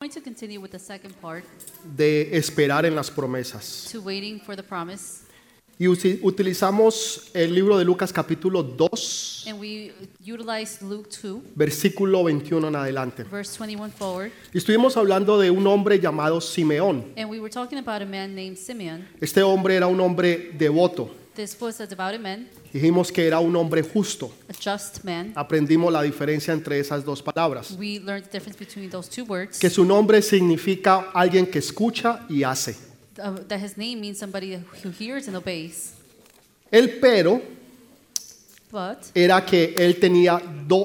going to continue with the second part, de esperar en las promesas. to waiting for the promise. Y utilizamos el libro de Lucas capítulo 2, And we utilized Luke 2, versículo 21 en adelante. verse 21 forward. Y estuvimos hablando de un hombre llamado Simeón. And we were talking about a man named Simeon. Este hombre era un hombre devoto. This was a devout man, Dijimos que era un hombre justo. a just man. Aprendimos la diferencia entre esas dos palabras. We learned the difference between those two words. Que su nombre significa alguien que escucha y hace. That his name means somebody who hears and obeys. El pero But era que él tenía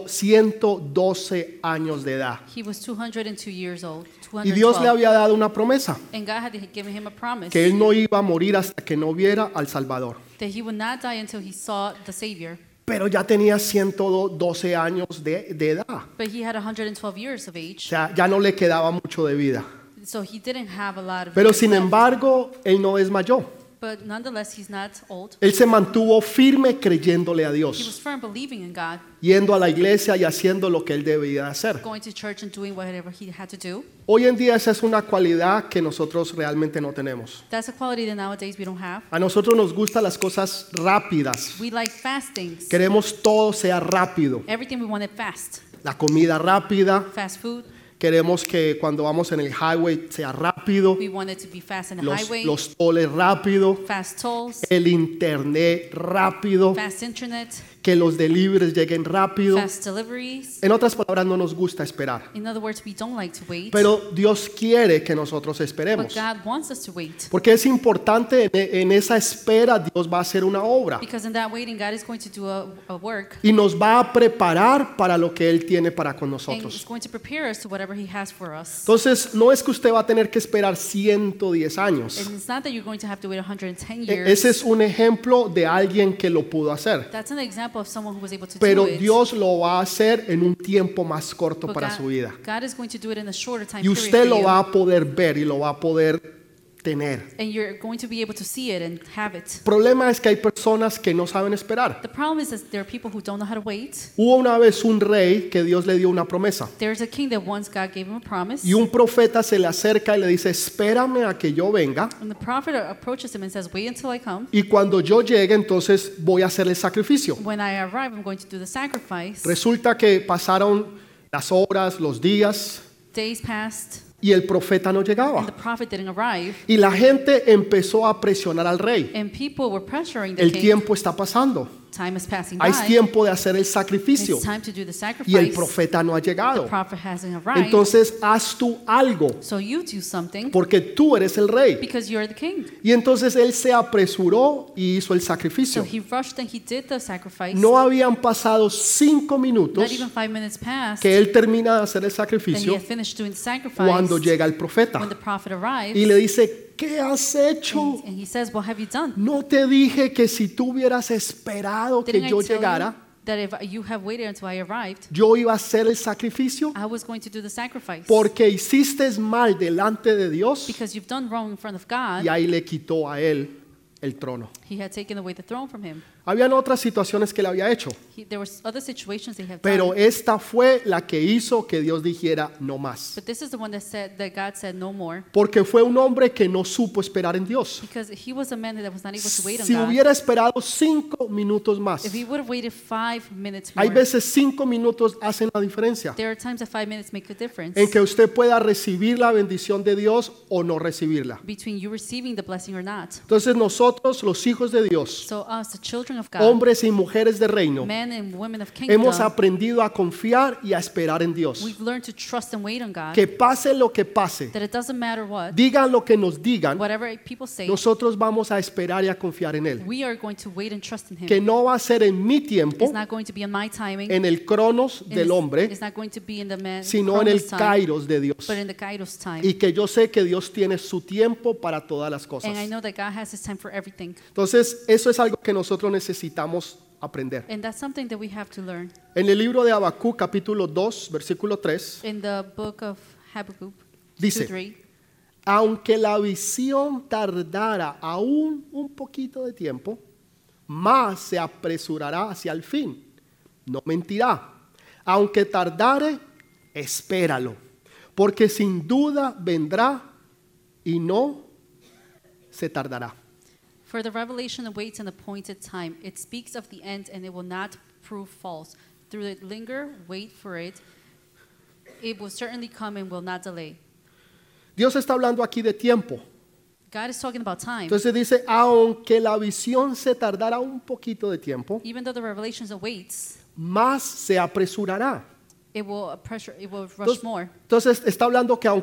112 años de edad. he was 202 years old. Y Dios le 212. había dado una promesa, And God had given him a promise que él no iba a morir hasta que no viera al Salvador. that he would not die until he saw the Savior. Pero ya tenía 112 años de edad. But he had 112 years of O age, sea, ya no le quedaba mucho de vida. so he didn't have a lot of Pero years sin left. embargo, él no desmayó. But nonetheless, he's not old. Él se mantuvo firme creyéndole a He was Dios, firm believing in God, yendo a la iglesia y haciendo lo que él debía hacer. going to church and doing whatever he had to do. Hoy en día esa es una cualidad que nosotros realmente no tenemos. That's a quality that nowadays we don't have. A nosotros nos gustan las cosas rápidas. We like fast things. Queremos todo sea rápido. Everything we want it fast. La comida rápida. Fast food. Queremos que cuando vamos en el highway sea rápido. We want it to be fast in the Los highway. tolls rápido. Fast tolls. El internet rápido. Fast internet. Que los deliveries lleguen rápido. Fast deliveries. En otras palabras, no nos gusta esperar. In other words, we don't like to wait. Pero Dios quiere que nosotros But esperemos. God wants us to wait. Porque es importante, en esa espera Dios va a hacer una obra. Because in that waiting, God is going to do a work. Y nos va a preparar para lo que Él tiene para con And is nosotros. going to prepare us to whatever He has for us. Entonces, no es que usted va a tener que esperar 110 años. And it's not that you're going to have to wait 110 Ese years. es un ejemplo de alguien que lo pudo hacer. That's an example of someone who was able to Pero do it. Dios lo va a hacer en un tiempo más corto But para su vida. God is going to do it in a shorter time Y period usted for lo you. va a poder ver y lo va a poder tener. And you're going to be able to see it and have it. El problema es que hay personas que no saben esperar. The problem is that there are people who don't know how to wait. Hubo una vez un rey que Dios le dio una promesa. There's a king that once God gave him a promise. Y un profeta se le acerca y le dice, espérame a que yo venga. And the prophet approaches him and says, wait until I come. Y cuando yo llegue, entonces voy a hacer el sacrificio. When I arrive, I'm going to do the sacrifice. Resulta que pasaron las horas, los días, Days passed, y el profeta no and llegaba. the prophet didn't arrive. Y la gente empezó a presionar al rey. And people were pressuring the El king. tiempo está pasando. Time is passing Hay by. tiempo de hacer el sacrificio. It's time to do the sacrifice. Y el profeta no ha The llegado. prophet hasn't arrived. Entonces haz tú algo, So you do something porque tú eres el rey. because you're the king. Y entonces él se apresuró y hizo el So sacrificio. he rushed and he did the sacrifice. No habían pasado 5 Not minutos even 5 minutes passed. que él termina de hacer el And he sacrificio had finished doing the sacrifice cuando llega el profeta when the prophet arrives. y le dice, ¿qué has hecho? And he says, what have you done? No te dije que si tú hubieras esperado que Didn't I yo tell you llegara, that if you have waited until I arrived, yo iba a hacer el sacrificio? I was going to do the sacrifice? Porque hiciste mal delante de Dios. Because you've done wrong in front of God, Y ahí le quitó a él el trono. he had taken away the throne from him. Habían otras situaciones que le había hecho, There were other situations they have pero done. esta fue la que hizo que Dios dijera no más. But this is the one that God said no more. Porque fue un hombre que no supo esperar en Dios. Because he was a man that was not able to wait on Si God. hubiera esperado 5 minutos más, If he would have waited 5 minutes hay more, veces 5 minutos hacen la diferencia there are times that 5 minutes make a difference en que usted pueda recibir la bendición de Dios o no recibirla. between you receiving the blessing or not. Entonces nosotros, los hijos de Dios, So us, the children of God, hombres y mujeres de reino, men and women of hemos kingdom, aprendido a confiar y a esperar en Dios. we've learned to trust and wait on God. Que pase lo que pase, That it doesn't matter what, digan lo que nos digan, whatever people say, nosotros vamos a esperar y a confiar en Él. we are going to wait and trust in Him. Que no va a ser en mi tiempo, It's not going to be in my timing. en el cronos del hombre, It's not going to be in the man sino en el Chronos time, kairos de Dios. but in the Kairos time. Y que yo sé que Dios tiene su tiempo para todas las cosas. And I know that God has His time for everything. Entonces, eso es algo que nosotros necesitamos aprender. And that's something that we have to learn. En el libro de Habacuc, capítulo 2, versículo 3, In the book of Habakkuk Dice, 2:3, aunque la visión tardara aún un poquito de tiempo, más se apresurará hacia el fin. No mentirá. Aunque tardare, espéralo, porque sin duda vendrá y no se tardará. For the revelation awaits an appointed time. It speaks of the end, and it will not prove false. Through it linger, wait for it. It will certainly come and will not delay. Dios está hablando aquí de tiempo. God is talking about time. Entonces dice, aunque la visión se tardara un poquito de tiempo, Even though the revelation awaits, más se apresurará. it will rush more. Entonces está hablando que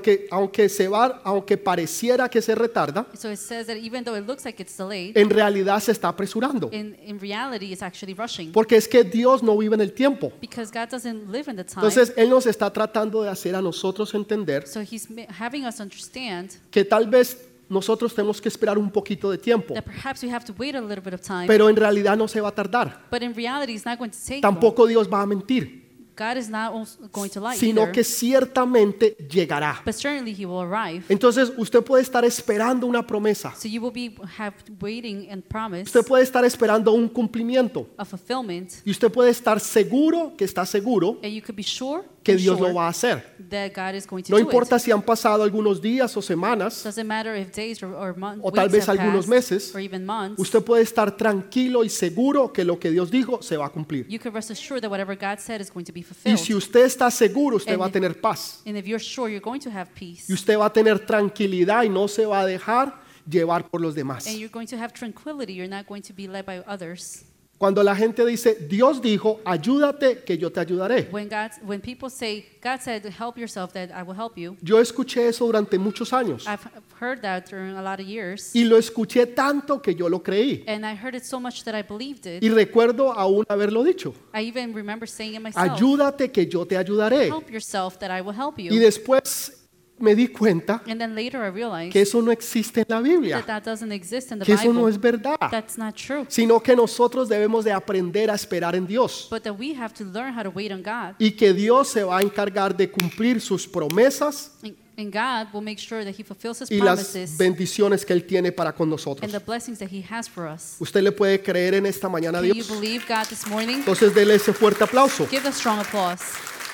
aunque pareciera que se retarda, So it says that even though it looks like it's delayed, en realidad se está apresurando. in reality it's actually rushing. Porque es que Dios no vive en el tiempo. Because God doesn't live in the time. Entonces Él nos está tratando de hacer a nosotros entender So he's having us understand que tal vez nosotros tenemos que esperar un poquito de tiempo, that perhaps we have to wait a little bit of time. pero en realidad no se va a tardar. But in reality it's not going to take long. Tampoco Dios va a mentir, God is not also going to lie sino either. que ciertamente llegará. But certainly he will arrive. Entonces usted puede estar esperando una promesa, So you will be waiting and promise usted puede estar esperando un cumplimiento a fulfillment, y usted puede estar seguro que está seguro and you could be sure que and Dios sure lo va a hacer. that God is going to No do importa it. si han pasado algunos días o semanas Doesn't matter if days or months o tal vez algunos meses, or even months. usted puede estar tranquilo y seguro que lo que Dios dijo se va a cumplir. You can rest assured that whatever God said is going to be Y fulfilled. si usted está seguro, usted And va a tener paz. And if you're sure, you're going to have peace. Y usted va a tener tranquilidad y no se va a dejar llevar por los demás. And you're going to have tranquility. You're not going to be led by others. Cuando la gente dice, Dios dijo, ayúdate que yo te ayudaré. When people say, God said, help yourself, that I will help you. Yo escuché eso durante muchos años. I've heard that during a lot of years. Y lo escuché tanto que yo lo creí. And I heard it so much that I believed it. Y recuerdo aún haberlo dicho. I even remember saying it myself. Ayúdate que yo te ayudaré. Help yourself that I will help Y you. después me di cuenta And then later I realized que eso no existe en la Biblia. that doesn't exist in the Que eso no Bible. es verdad. That's not true. Sino que nosotros debemos de aprender a esperar en Dios. But that we have to learn how to wait on God. Y que Dios se va a encargar de cumplir sus promesas And God will make sure that He fulfills His y las promises bendiciones que Él tiene para con and nosotros. the blessings that He has for us. ¿Usted le puede creer en esta mañana a Can you Dios? believe God this morning? Entonces dele ese fuerte aplauso. Give a strong applause.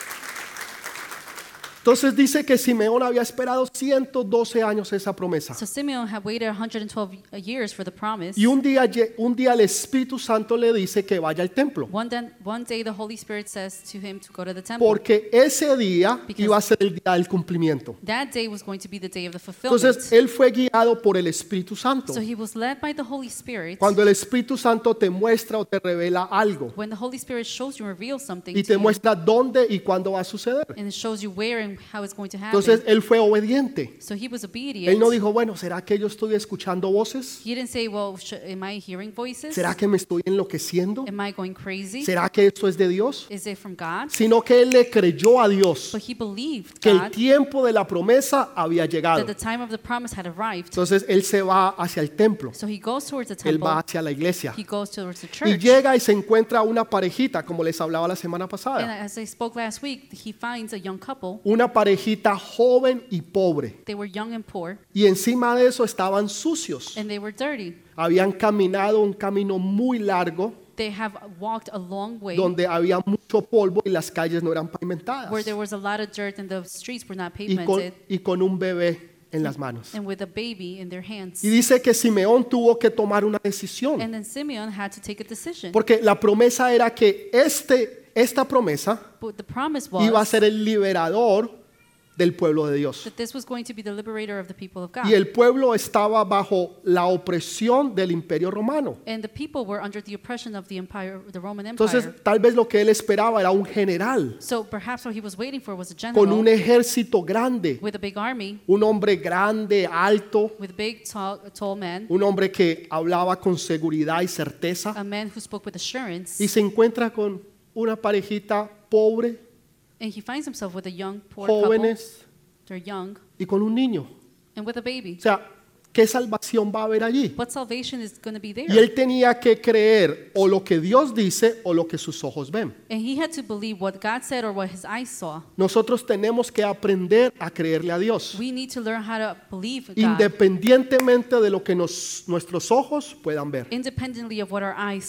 Entonces dice que Simeón había esperado 112 años esa promesa. So Simeon had waited 112 years for the promise. Y un día el Espíritu Santo le dice que vaya al templo. One day the Holy Spirit says to him to go to the temple. Porque ese día iba a ser el día del cumplimiento. That day was going to be the day of the fulfillment. Entonces él fue guiado por el Espíritu Santo. So he was led by the Holy Spirit. Cuando el Espíritu Santo te muestra o te revela algo When the Holy Spirit shows you and reveals something y to te you, muestra dónde y cuándo va a suceder. and it shows you where and how it's going to happen. Entonces él fue obediente. So he was obedient. Él no dijo, bueno, ¿será que yo estoy escuchando voces? He didn't say, well, am I hearing voices? ¿Será que me estoy enloqueciendo? Am I going crazy? ¿Será que esto es de Dios? Is it from God? Sino que él le creyó a Dios But he believed que el God tiempo de la promesa había llegado. that the time of the promise had arrived. Entonces él se va hacia el templo, So he goes towards the él va temple. hacia la iglesia He goes towards the y church. llega y se encuentra una parejita, como les hablaba la semana And pasada, as I spoke last week, he finds a young couple. una parejita joven y pobre. They were young and poor, Y encima de eso estaban sucios. and they were dirty. Habían caminado un camino muy largo They have walked a long way donde había mucho polvo y las calles no eran pavimentadas. where there was a lot of dirt and the streets were not Y pavimented, con un bebé en las manos. and with a baby in their hands. Y dice que Simeón tuvo que tomar una decisión. And then Simeon had to take a decision. Porque la promesa era que esta promesa But the promise iba a was ser el liberador del pueblo de Dios. that this was going to be the liberator of the people of God. Y el pueblo estaba bajo la opresión del imperio romano. And the people were under the oppression of the empire, the Roman Entonces, Empire. tal vez lo que él esperaba era un general So perhaps what he was waiting for was a con general un ejército grande, with a big army, un hombre grande, alto, with a big, tall man, un hombre que hablaba con seguridad y certeza, a man who spoke with assurance. y se encuentra con una parejita pobre, And he finds himself with a young, poor couple. jóvenes They're young y con un niño. and with a baby. O sea, ¿qué salvación va a haber allí? What salvation is going to be there? Y él tenía que creer o lo que Dios dice o lo que sus ojos ven. And he had to believe what God said or what his eyes saw. Nosotros tenemos que aprender a creerle a Dios, We need to learn how to believe God independientemente de lo que nuestros ojos puedan ver. independently of what our eyes see.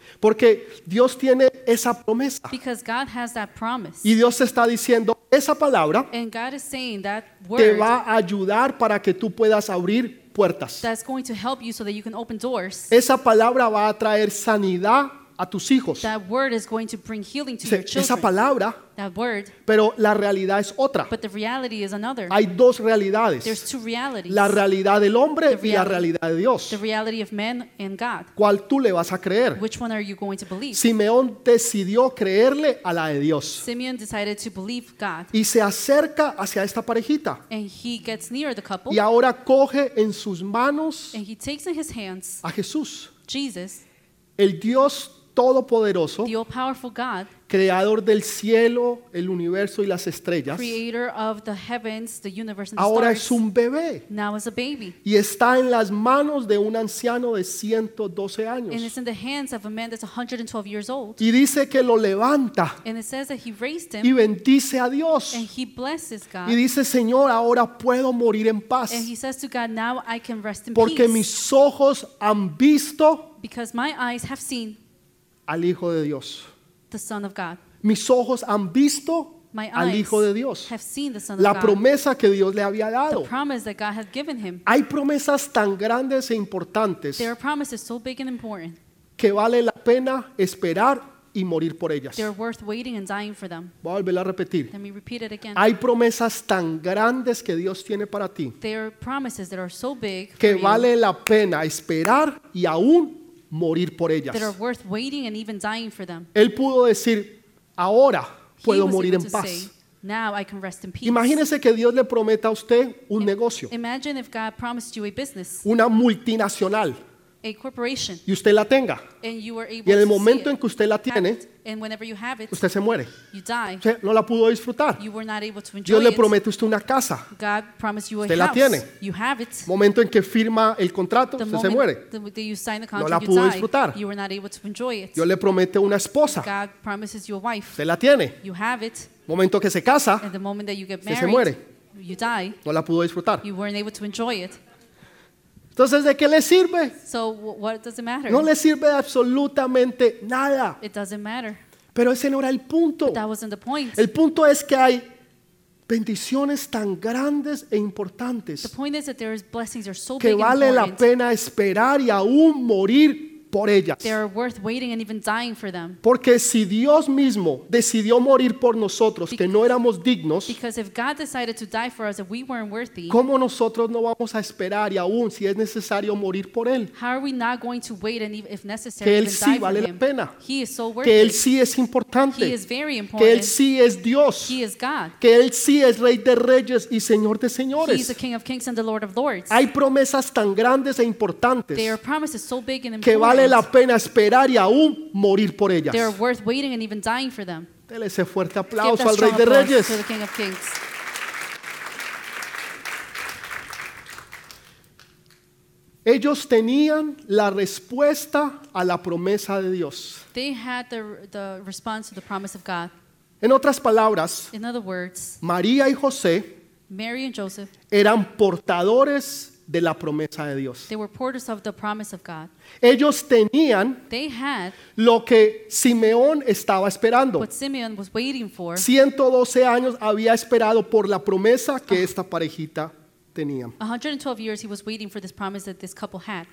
Porque Dios tiene esa promesa. Because God has that promise. Y Dios te está diciendo, esa palabra And God is saying that te word va a ayudar para que tú puedas abrir puertas. that's going to help you so that you can open doors. Esa palabra va a traer sanidad a tus hijos. That word is going to bring healing to your Esa children. palabra, That word. pero la realidad es otra. But the reality is another. Hay dos realidades. There's two realities. La realidad del hombre The y la reality. realidad de Dios. The reality of man and God. ¿Cuál tú le vas a creer? Which one are you going to believe? Simeón decidió creerle a la de Dios Simeon decided to believe God. y se acerca hacia esta parejita And he gets near the couple. y ahora coge en sus manos And he takes in his hands a Jesús, Jesus, el Dios todopoderoso, the all-powerful God, creador del cielo, el universo y las estrellas. creator of the heavens, the universe, and the Ahora stars. es un bebé Now is a baby. y está en las manos de un anciano de 112 And años. it's in the hands of a man that's 112 years old. Y dice que lo levanta And it says that he raised y him bendice a Dios. and he blesses God. Y dice, Señor, ahora puedo morir en paz And he says to God, now I can rest in porque peace. mis ojos han visto Because my eyes have seen al Hijo de Dios. the Son of God. Mis ojos han visto My al eyes Hijo de Dios. have seen the Son of La God. promesa que Dios le había The dado. promise that God had given him. Hay promesas tan grandes e importantes There are promises so big and important. que vale la pena esperar y morir por ellas. They're worth waiting and dying for them. Voy a volver a repetir. Let me repeat it again. Hay promesas tan grandes que Dios tiene para ti There are promises that are so big que for you, vale la pena esperar y aún morir por ellas. that are worth waiting and even dying for them. Él pudo decir, ahora He puedo was morir able en to paz. say, now I can rest in peace. Imagínese que Dios le prometa a usted un negocio, Imagine if God promised you a business, una multinacional, a corporation, y usted la tenga. and you were able Y en el to see momento en it, que usted la have tiene, it, and whenever you have it, usted se muere. you die. Usted no la pudo disfrutar. You were not able to enjoy Dios le it. promete a usted una casa. God promised you a Usted la house. tiene. You have it. Momento en que firma el contrato, The usted se moment muere. that you sign the No la contract, you pudo die. disfrutar. You were not able to enjoy it. Dios le promete una esposa. God promises you a wife. Usted la tiene. You have it. Momento que se casa, And the moment that you get se married, muere. you die. no la pudo disfrutar. You weren't able to enjoy it. Entonces, ¿de qué le sirve? So what does it matter? No le sirve de absolutamente nada. It doesn't matter. Pero ese no era el punto. That wasn't the point. El punto es que hay bendiciones tan grandes e The importantes point is that there is blessings that are so que big and vale la important. pena esperar y aún morir por ellas. They are worth waiting and even dying for them. Porque si Dios mismo decidió morir por nosotros, que no éramos dignos, Because if God decided to die for us if we weren't worthy, ¿cómo nosotros no vamos a esperar y aún si es necesario morir por Él? how are we not going to wait and if necessary Que Él even sí die for vale la him? pena. He is so worthy. Que Él sí es He importante. is very Que Él important. sí es Dios. He is God. Que Él sí es Rey de Reyes y Señor de He is the Señores. King of Kings and the Lord of Lords. Hay promesas tan grandes e importantes There are promises so big and que vale la important. pena esperar y aún morir por ellas. They are worth waiting and even dying for them. Dele ese fuerte Give aplauso that al Rey strong de applause Reyes. to the King of Kings. Ellos tenían la respuesta a la promesa de Dios. They had the response to the promise of God. En otras palabras, In other words, María y José Mary and Joseph, eran portadores de la promesa de Dios. they were porters of the promise of God. Ellos tenían They had lo que Simeón estaba esperando. what Simeon was waiting for. 112 años había esperado por la promesa que esta parejita tenía. 112 years he was waiting for this promise that this couple had.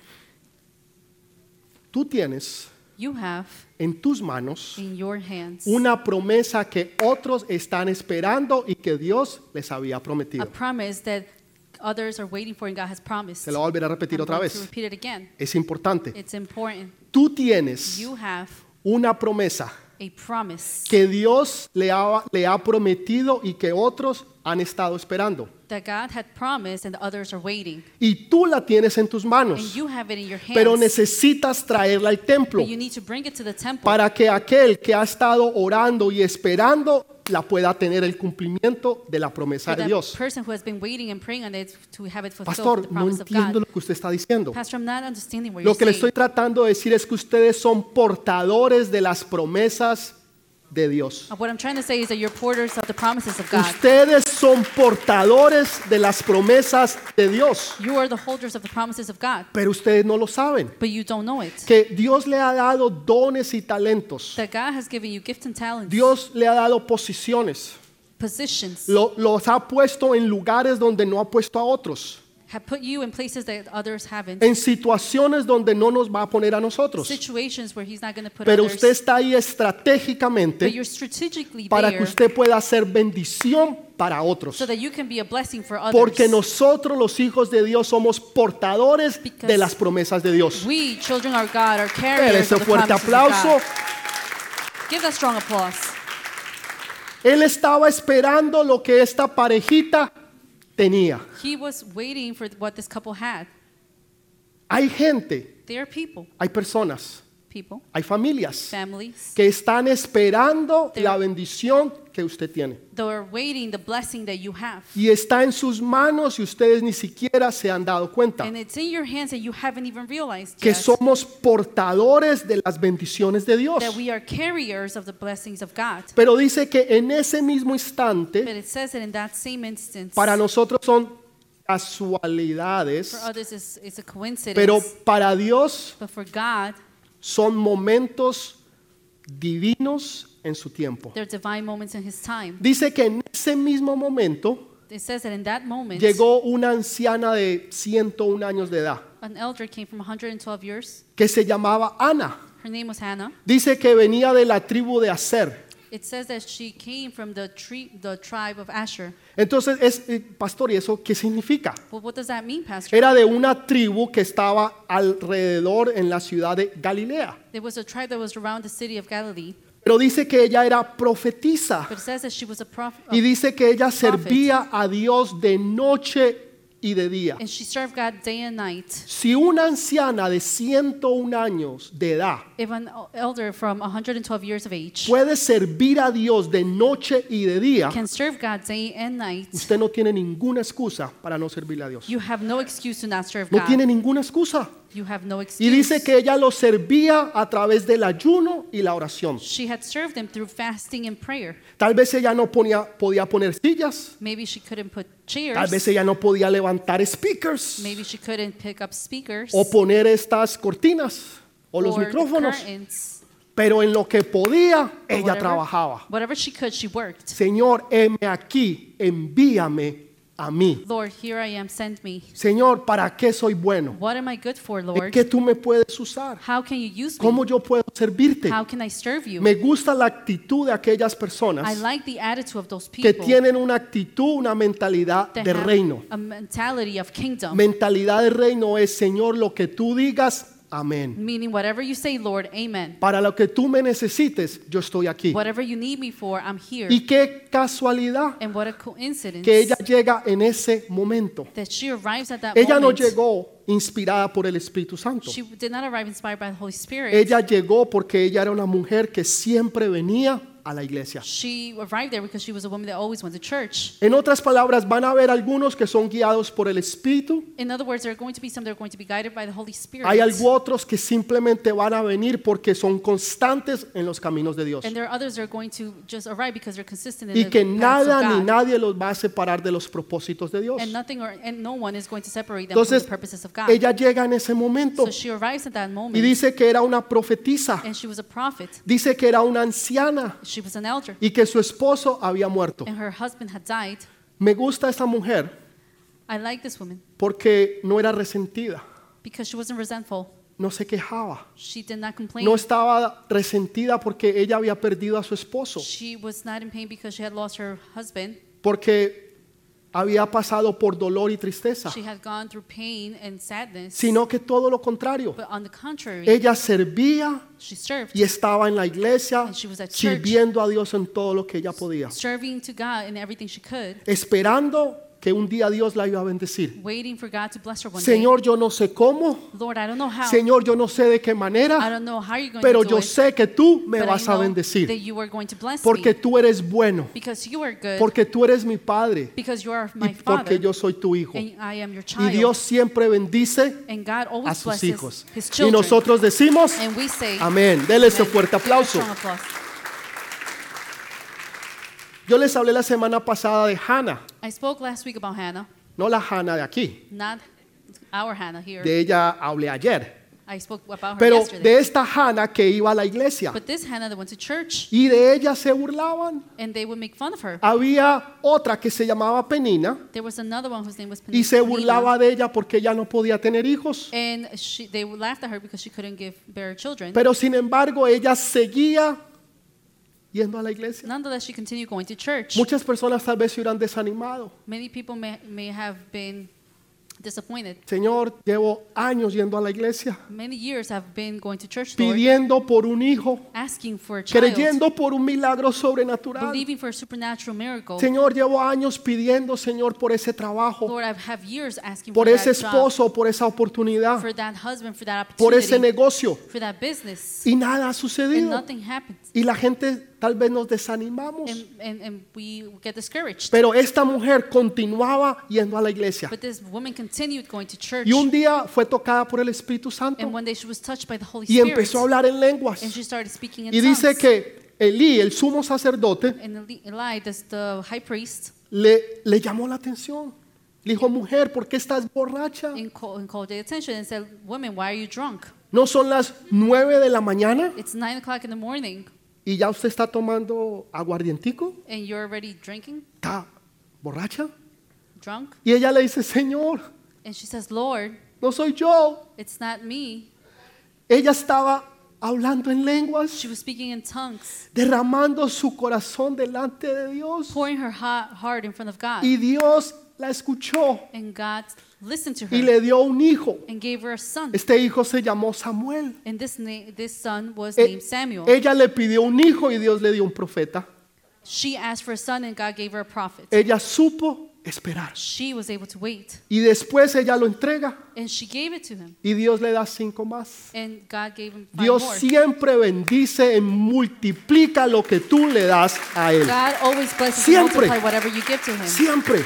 Tú tienes You have en tus manos in your hands una promesa que otros están esperando y que Dios les había a prometido. promise that others are waiting for and God has promised. Se lo voy a volver a repetir I'm otra going to vez. repeat it again. Es importante. It's important. Tú tienes You have una promesa a promise que Dios le ha prometido y que otros han estado esperando. that God had promised and the others are waiting. Y tú la tienes en tus And manos, you have it in your hands. pero necesitas traerla al templo But you need to bring it to the temple para que aquel que ha estado orando y esperando la pueda tener el cumplimiento de la promesa for de that Dios. person who has been waiting and praying on it to have it fulfilled, Pastor, the no promise of entiendo God. lo que usted está diciendo. Pastor, I'm not understanding what Lo you're que le saying. estoy tratando de decir es que ustedes son portadores de las promesas de Dios. What I'm trying to say is that you're porters of the promises of God. Ustedes son portadores de las promesas de Dios, You are the holders of the promises of God, pero ustedes no lo saben. but you don't know it. Que Dios le ha dado dones y talentos. That God has given you gifts and talents, Dios le ha dado posiciones. positions, Los ha puesto en lugares donde no ha puesto a otros. have put you in places that others haven't. En situaciones donde no nos va a poner a nosotros. Situations where He's not going to put Pero others. usted está ahí But estratégicamente you're strategically para que there usted pueda ser bendición para otros. so that you can be a blessing for others. Porque nosotros los hijos de Dios somos portadores Because de las promesas de Dios. We, children of God, are Dele carriers ese of the fuerte promises of aplauso. God. Give that strong applause. Él estaba esperando lo que esta parejita tenía. He was waiting for what this couple had. Hay gente, They are people, hay personas, hay familias families. que están esperando la bendición que usted tiene. They're waiting the blessing that you have. Y está en sus manos y ustedes ni siquiera se han dado cuenta And it's in your hands that you haven't even realized que yet somos portadores de las bendiciones de Dios. that we are carriers of the blessings of God. Pero dice que en ese mismo But instante, it says that in that same instance, para nosotros son for casualidades, others it's a coincidence, pero para Dios but for God, son momentos divinos en su tiempo. they're divine moments in His time. Dice que en ese mismo momento It says that in that moment, llegó una anciana de 101 años de edad an elder came from 112 years. que se llamaba Ana. Her name was Hannah. Dice que venía de la tribu de Aser. It says that she came from the tribe of Asher. Entonces, pastor, ¿y eso qué significa? Well, what does that mean, Pastor? Era de una tribu que estaba alrededor en la ciudad de Galilea. There was a tribe that was around the city of Galilee, Pero dice que ella era profetisa but it says that she was a prophet, y dice que ella servía a Dios de noche y de día. and she served God day and night. Si una anciana de 101 años de edad If an elder from 112 years of age puede servir a Dios de noche y de día, can serve God day and night, usted no tiene ninguna excusa para no servirle a Dios. you have no excuse to not serve No God. tiene ninguna excusa. You have no Y excuse. dice que ella lo servía a través del ayuno y la oración. She had served him through fasting and prayer. Tal vez ella no podía poner sillas. Maybe she couldn't put Tal vez chairs. ella no podía levantar speakers Maybe she couldn't pick up speakers o poner estas cortinas o los or micrófonos. curtains. Pero en lo que podía, But ella trabajaba. whatever she could, she worked. Señor, heme aquí, envíame a mí. Lord, here I am, send me. Señor, ¿para qué soy bueno? What am I good for, ¿En Lord? qué tú me puedes usar? How can you use me? ¿Cómo yo puedo servirte? How can I serve you? Me gusta la actitud de aquellas I personas like the attitude of those que people tienen una actitud, una mentalidad that de have reino. a mentality of kingdom, Mentalidad de reino es, Señor, lo que tú digas, amén. meaning whatever you say, Lord, amen. Para lo que tú me necesites, yo estoy aquí. Whatever you need me for, I'm here. Y qué casualidad And what a coincidence que ella llega en ese momento. that she arrives at that Ella no moment. llegó inspirada por el Espíritu Santo. She did not arrive inspired by the Holy Spirit. Ella llegó porque ella era una mujer que siempre venía a la iglesia. She arrived there because she was a woman that always went to church. En otras palabras, van a haber algunos que son guiados por el Espíritu. In other words, there are going to be some that are going to be guided by the Holy Spirit. Hay otros que simplemente van a venir porque son constantes en los caminos de Dios. And there are others that are going to just arrive because they're consistent in Y the que paths of nada ni God. nadie los va a separar de los propósitos de Dios. And nothing and no one is going to separate them from Entonces, the purposes of God. ella llega en ese momento So she arrives at that moment, y dice que era una profetisa. and she was a prophet. Dice que era una anciana She was an elder, y que su esposo había muerto. and her husband had died. Me gusta esta mujer I like this woman porque no era resentida, because she wasn't resentful. no se quejaba, She did not complain. no estaba resentida porque ella había perdido a su esposo, She was not in pain because she had lost her husband. porque había pasado por dolor y tristeza, She had gone through pain and sadness. sino que todo lo contrario. But on the contrary, Ella servía she served, y estaba en la iglesia And she was at church. sirviendo a Dios en todo lo que ella podía, serving to God in everything she could, esperando que un día Dios la iba a bendecir. waiting for God to bless her one Señor, yo no sé cómo, day. Lord, I don't know how. Señor, yo no sé de qué I manera, don't know how you're going pero to do yo it. sé que tú me But vas I a know bendecir, that you are going to bless porque me tú eres bueno, because you are good, porque tú eres mi Padre because you are y my porque father, yo soy tu hijo. and I am your Y child. Dios siempre bendice And God a always sus blesses hijos. His Y children. nosotros decimos, And we say, amén. Dele ese Amen. fuerte aplauso. Strong applause. Yo les hablé la semana pasada de Hannah, I spoke last week about Hannah, no la Hannah de aquí. not our Hannah here. De ella hablé ayer. I spoke about her Pero yesterday. de esta Hannah que iba a la iglesia. But this Hannah that went to church, Y de ella se burlaban. and they would make fun of her. Había otra que se llamaba Penina There was another one whose name was y se Penina, burlaba de ella porque ella no podía tener hijos. and they laughed at her because she couldn't bear children. Pero sin embargo ella seguía yendo a la iglesia. Nonetheless, she continued going to church. Muchas personas tal vez se hubieran desanimado. Many people may have been disappointed. Señor, llevo años yendo a la iglesia, Many years have been going to church, Lord, pidiendo por un hijo, asking for a child, creyendo por un milagro sobrenatural. believing for a supernatural miracle. Señor, llevo años pidiendo, Señor, por ese trabajo, Lord, I have years asking por for ese that job, esposo, por esa oportunidad, for that husband, for that por ese opportunity, negocio. for that business, Y nada ha and sucedido. nothing happens. Y la gente tal vez nos desanimamos. And we get discouraged. Pero esta mujer continuaba yendo a la iglesia. But this woman continued going to church. Y un día fue tocada por el Espíritu And Santo one day she was touched by the Holy y Spirit. empezó a hablar en lenguas. And she started speaking in Y dice tongues. que Elí, el sumo sacerdote, And Eli, the high priest, le llamó la atención. Le dijo, mujer, ¿por qué estás borracha? and called their attention and said, "Woman, why are you drunk? ¿No son las 9 de la mañana It's 9 o'clock in the morning, y ya usted está tomando aguardientico? and you're already drinking, ¿Está borracha? drunk?" Y ella le dice, Señor, And she says, "Lord, no soy yo. it's not me." Ella estaba hablando en lenguas, She was speaking in tongues, derramando su corazón delante de Dios. pouring her heart in front of God. Y Dios la escuchó And God listened to y her le dio un hijo. and gave her a son. Este hijo se llamó Samuel. And this son was E- named Samuel. Ella le pidió un hijo y Dios le dio un profeta. She asked for a son and God gave her a prophet. Ella supo esperar. She was able to wait. Y después ella lo entrega And she gave it to him. y Dios le da 5 más. And God gave him 5 Dios more. siempre bendice y multiplica lo que tú le das a Él. God always blesses and Siempre. multiply whatever you give to him. Siempre.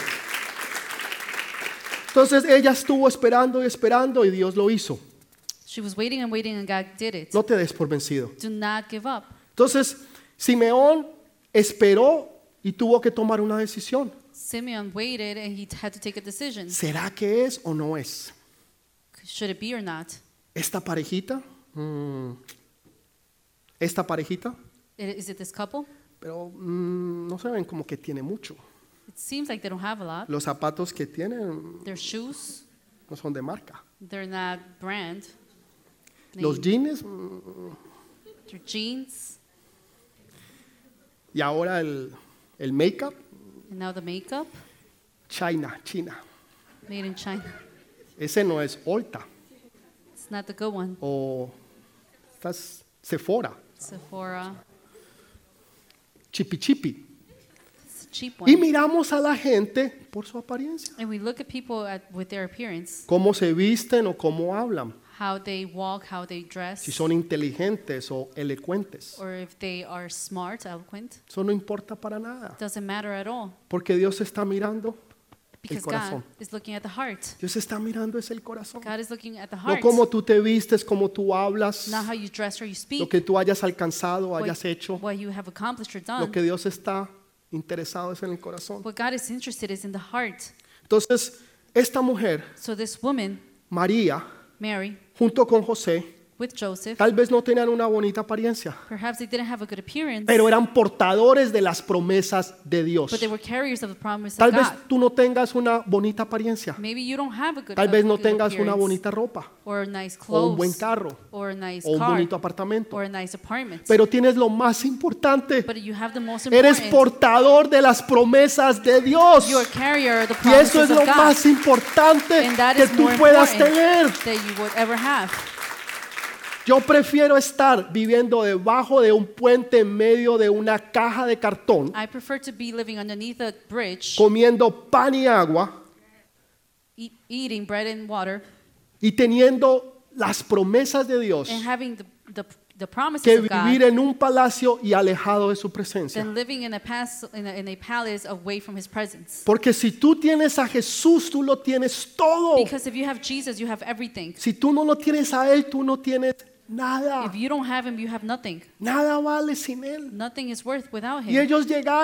Entonces ella estuvo esperando y esperando y Dios lo hizo. She was waiting and waiting and God did it. No te des por vencido. Do not give up. Entonces Simeón esperó y tuvo que tomar una decisión. Simeon waited and he had to take a decision. ¿Será que es o no es? Should it be or not? ¿Esta parejita? ¿Esta parejita? Is it this couple? Pero no se ven como que tiene mucho. It seems like they don't have a lot. Los zapatos que tienen Their shoes, no son de marca. they're not brand. Los name. jeans Their jeans, y ahora el make-up, and now the makeup, China. made in China. Ese no es Ulta It's not the good one. o estas Sephora, Sephora, Chipi. it's a cheap Y one. miramos a la gente por su apariencia, And we look at people with their appearance, cómo se visten o cómo hablan, how they walk, how they dress, si son inteligentes o elocuentes. or if they are smart, eloquent. Eso no importa para nada, Doesn't matter at all porque Dios está mirando el because corazón. God is looking at the heart. Dios está mirando es el corazón. God is looking at the No heart, cómo tú te vistes, cómo tú hablas, not how you dress or you lo speak, que tú hayas alcanzado o what, hayas hecho. what you have accomplished or Lo done. que Dios está interesado es en el corazón. What God is interested is in the heart. Entonces, esta mujer, So this woman, María, Mary, junto con José, with Joseph, tal vez no tenían una bonita apariencia, perhaps they didn't have a good appearance, pero eran portadores de las promesas de Dios. but they were carriers of the promise Tal of vez God. tú no tengas una bonita apariencia, Maybe you don't have a good, tal vez no good tengas una appearance, bonita ropa, or nice o clothes, un buen carro, or a nice o un car, bonito apartamento, or a nice apartment. pero tienes lo más importante, But you have the most eres important. portador de las promesas de Dios. You are carrier of the Y eso promises es of lo God. más importante And that que is tú more puedas important tener. that you would ever have. Yo prefiero estar viviendo debajo de un puente en medio de una caja de cartón, I prefer to be living underneath a bridge, comiendo pan y agua eating bread and water, y teniendo las promesas de Dios, and having the promises que of God, vivir en un palacio y alejado de su presencia. than living in a palace away from His presence. Porque si tú tienes a Jesús, tú lo tienes todo. Because if you have Jesus, you have everything. Si tú no lo tienes a Él, tú no tienes nada. If you don't have Him, you have nothing. Nada vale sin Él. Nothing is worth without Y Him. ellos llegaron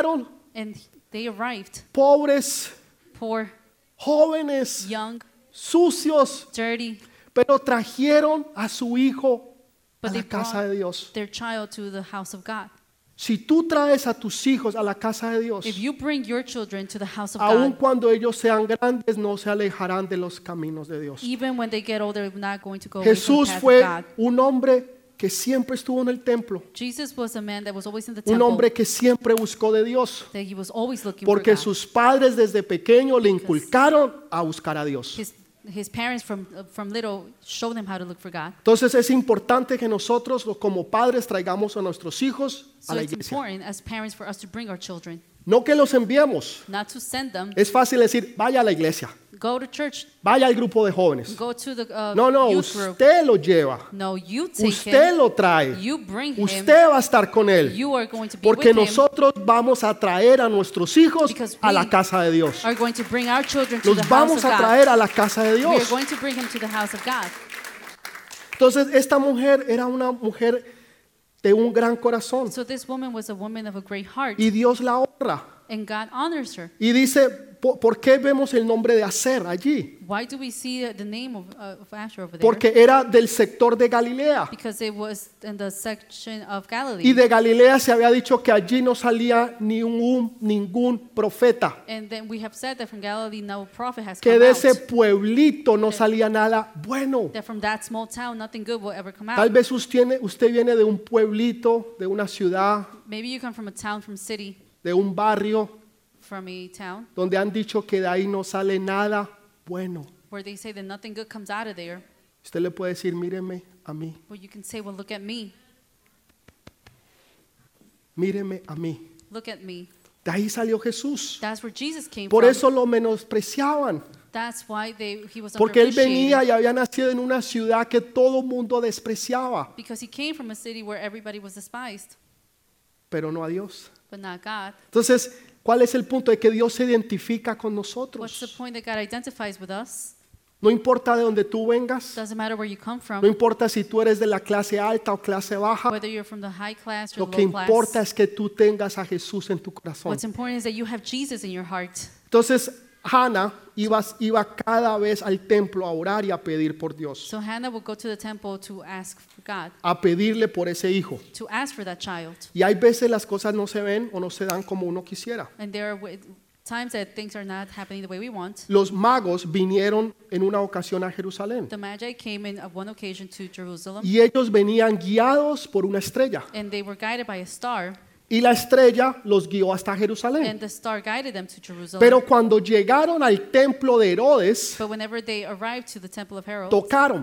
And they arrived, pobres, poor, jóvenes, young, sucios, dirty, pero trajeron a su hijo a but they la casa de brought Dios. their child to the house of God. Si tú traes a tus hijos a la casa de Dios, If you bring your children to the house of aun God, cuando ellos sean grandes, no se alejarán de los caminos de Dios. even when they get older, they're not going to go away from Jesús the path fue of God. un hombre que siempre estuvo en el templo, Jesus was a man that was always in the un temple, hombre que siempre buscó de Dios, that he was always looking porque for God. sus padres desde pequeño le inculcaron a buscar a Dios. His parents from little showed him how to look for God. Entonces es importante que nosotros como padres traigamos a nuestros hijos a So la it's iglesia. important as parents for us to bring our children, No que los enviemos. not to send them. Es fácil decir, vaya a la iglesia, Go to church, vaya al grupo de jóvenes. go to the No, no, youth group. usted lo lleva, No, you take usted him, lo trae, you bring him, usted va a estar con él. you are going to be Porque with him, nosotros vamos a traer a nuestros hijos Because a la we casa de Dios. are going to bring our children to the Los house vamos of a God. traer a la casa de We are Dios. going to bring him to the house of God. Entonces esta mujer era una mujer de un gran corazón So this woman was a woman of a great heart, y Dios la honra. and God honors her. Y dice, ¿por qué vemos el nombre de Aser allí? Why do we see the name of Asher over there? Porque era del sector de Galilea. Because it was in the section of Y Galilee. de Galilea se había dicho que allí no salía ningún profeta. And then we have said that from Galilee no prophet has Que come de out. ese pueblito no salía nada bueno. That from that small town nothing good will ever come Tal out. vez usted viene de un pueblito, de una ciudad, Maybe you come from a town, from city, de un barrio, from a town, donde han dicho que de ahí no sale nada bueno. where they say that nothing good comes out of there. Usted le puede decir, míreme a mí, Well, you can say, well, look at me. míreme a mí. Look at me. De ahí salió Jesús. That's where Jesus came Por from. eso lo menospreciaban. That's why he was Porque él venía underappreciated. y había nacido en una ciudad que todo mundo despreciaba, Because he came from a city where everybody was despised, pero no a Dios. but not God. Entonces, ¿cuál es el punto? De que Dios se identifica con What's the nosotros. point that God identifies with us? No importa de dónde tú vengas, Doesn't matter where you come no from, importa si tú eres de la clase alta o clase baja, whether you're from the high class or lo the que low class. importa es que tú tengas a Jesús en tu corazón. What's important is that you have Jesus in your heart. Entonces, Hannah iba cada vez al templo a orar y a pedir por Dios, So Hannah would go to the temple to ask for God, a pedirle por ese hijo. to ask for that child. Y hay veces las cosas no se ven o no se dan como uno quisiera. And there are times that things are not happening the way we want. Los magos vinieron en una ocasión a Jerusalén The Magi came in on one occasion to Jerusalem, y ellos venían guiados por una estrella. and they were guided by a star, Y la estrella los guió hasta Jerusalén. and the star guided them to Jerusalem. Pero cuando llegaron al templo de Herodes, But whenever they arrived to the temple of Herod, tocaron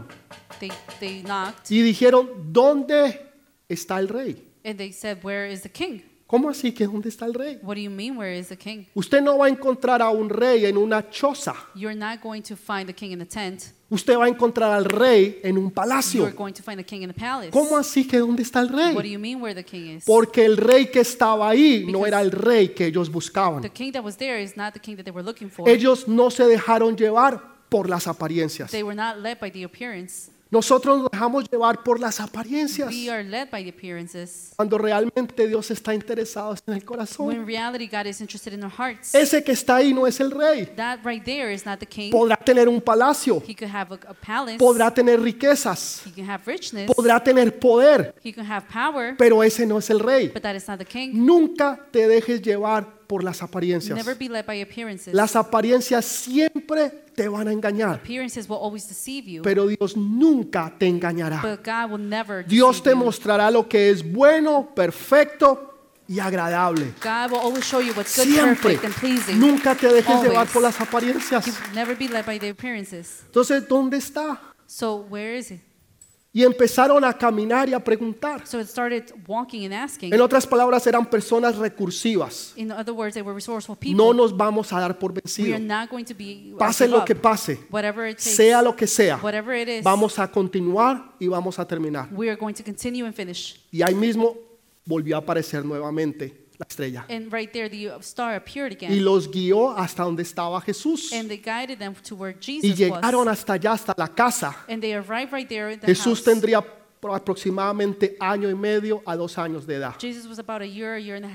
they knocked, y dijeron, ¿dónde está el rey? and they said, "Where is the king?" ¿Cómo así que dónde está el rey? What do you mean, where is the king? Usted no va a encontrar a un rey en una choza. You're not going to find the king in the tent. Usted va a encontrar al rey en un You're palacio. going to find the king in the palace. ¿Cómo así que dónde está el What do rey? you mean where the king is? Porque el rey que estaba ahí no Because era el rey que ellos buscaban. The king that was there is not the king that they were looking for. Ellos no se dejaron llevar por las apariencias. They were not led by the appearance. Nosotros nos dejamos llevar por las apariencias We are led by the appearances. cuando realmente Dios está interesado en el When corazón. in reality God is interested in our hearts. Ese que está ahí no es el rey. That right there is not the king. Podrá tener un palacio, He could have a palace. podrá tener riquezas, He can have richness. podrá tener poder, He can have power. pero ese no es el rey. But that is not the king. Nunca te dejes llevar por las apariencias. Never be led by appearances. Las apariencias siempre te van a engañar, Appearances will always deceive you. pero Dios nunca te engañará. But God will never Dios te deceive you. mostrará lo que es bueno, perfecto y agradable. God will always show you what's good, Siempre. perfect, and pleasing. Nunca te dejes Always. llevar por las apariencias. You never be led by the appearances. Entonces, ¿dónde está? So where is he? Y empezaron a caminar y a preguntar. So it started walking and asking. En otras palabras, eran personas recursivas. In other words, they were resourceful people. No nos vamos a dar por We are vencidos. not going to be Pase give lo up. que pase, Whatever it takes, sea lo que sea, whatever it is, vamos a continuar y vamos a terminar. we are going to continue and finish. Y ahí mismo volvió a aparecer nuevamente la estrella. And right there, the star appeared Y again, los guió hasta donde estaba Jesús. and they guided them to where Y Jesus llegaron was. hasta allá, hasta la casa. And they arrived right there in the Jesús house. tendría aproximadamente año y medio a 2 años de edad. Jesus was about a year and a half,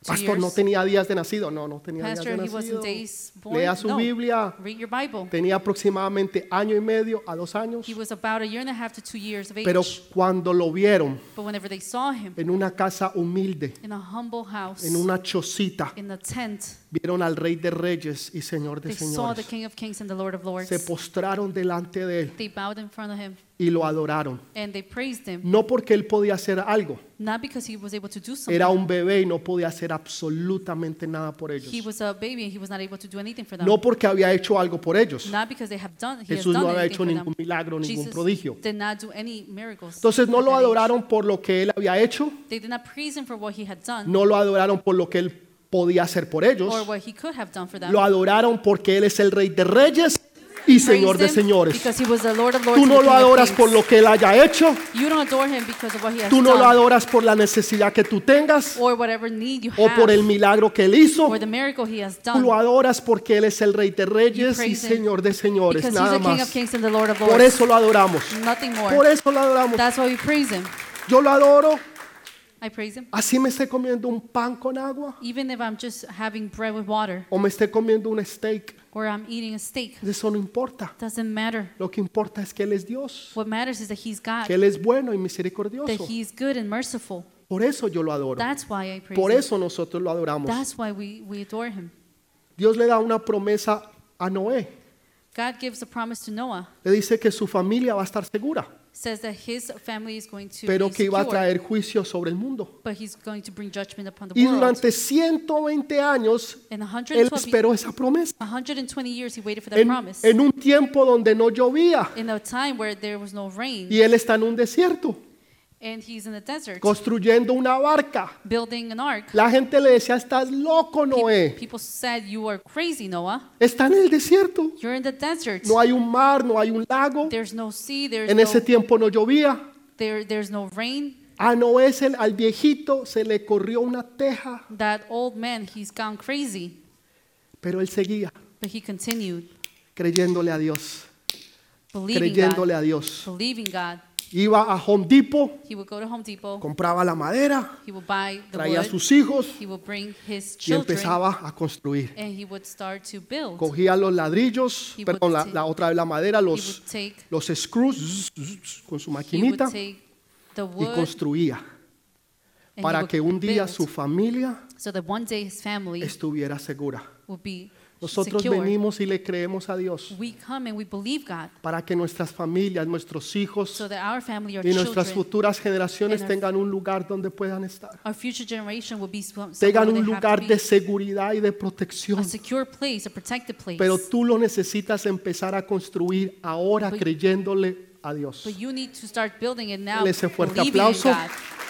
Pastor, no tenía días de nacido. No, no tenía días Pastor, de he wasn't nacido. days born. Lea su No. Biblia. Read your Bible. Tenía aproximadamente año y medio a 2 años. He was about a year and a half to 2 years of age. Pero cuando lo vieron But whenever they saw him en una casa humilde, in a humble house, en una chocita, in a tent, vieron al Rey de Reyes y Señor de they saw the Señores. King of Kings and the Lord of Lords. Se postraron delante de él They bowed in front of him y lo adoraron. and they praised him, No porque él podía hacer algo, not because he was able to do something. era un bebé y no podía hacer absolutamente nada por He ellos. was a baby and he was not able to do anything for them. No porque había hecho algo por ellos. Not because he has Jesús done no había anything hecho for ningún them. milagro, ningún Jesus prodigio. did not do any miracles. Entonces no at lo that age. adoraron por lo que él había hecho, They did not praise him for what he had done no lo adoraron por lo que él podía hacer por ellos, or what he could have done for them. lo adoraron porque él es el Rey de Reyes y Señor de Praised him señores. because he was the Lord of Lords Tú and no the lo King of adoras Kings. por lo que él haya hecho, You don't adore him because of what he has tú no lo done adoras por la necesidad que tú tengas or whatever need you o have por el milagro que él hizo. or the miracle he has Tú done lo adoras porque él es el Rey de You Reyes y praise him Señor de señores, because he's nada the King of más. Kings and the Lord of Por Lords. eso lo adoramos. Nothing more. Por eso lo adoramos. That's why we praise him. Yo lo adoro, I praise him. así me esté comiendo un pan con agua Even if I'm just having bread with water o me esté comiendo un steak, or I'm eating a steak, eso no importa. doesn't matter. Lo que importa es que él es Dios, What matters is that he's God, que él es bueno y that misericordioso. he's good and merciful. Por eso yo lo adoro. That's why I praise Por him. eso nosotros lo adoramos. That's why we adore him. Dios le da una promesa a Noé. God gives a promise to Noah. Le dice que su familia va a estar segura, Says that his family is going to pero be que iba a secure, traer juicio sobre el mundo. but he's going to bring judgment upon the Y world. durante 120 años In él 120, esperó esa promesa. 120 years he waited for that En, promise. en un tiempo donde no llovía In a time where there was no rain y él está en un desierto and he's in the desert construyendo una barca. building an ark. La gente le decía, estás loco, Noé. People said, "You are crazy, Noah. Está en el desierto. You're in the desert. No hay un mar, no hay un lago. There's no sea, there's En ese tiempo no llovía. there's no rain." A Noé, al viejito, se le corrió una teja, That old man, he's gone crazy, pero él seguía but he continued creyéndole a Dios, believing creyéndole God, a Dios. believing God. Iba a Home Depot, He would go to Home Depot, compraba la madera, he would buy the traía a wood, sus hijos he would bring his y children, empezaba a construir. and he would start to build. Cogía los ladrillos, He perdón, would la otra vez la madera, He los would take, screws con su he would maquinita take the y wood, construía and he para would que un día build, su familia so that one day his family estuviera segura. would be Nosotros secure. venimos y le creemos a Dios We come and we believe God, para que nuestras familias, nuestros hijos so that our family, our y nuestras children, futuras generaciones and our- tengan un lugar donde puedan estar. our future generation will be somewhere Tengan where un they have to lugar be, de seguridad y de a protección. secure place, a protected place. Pero tú lo necesitas empezar a construir ahora But- creyéndole a Dios. But you need to start building it now, Dale ese fuerte believing aplauso. in God.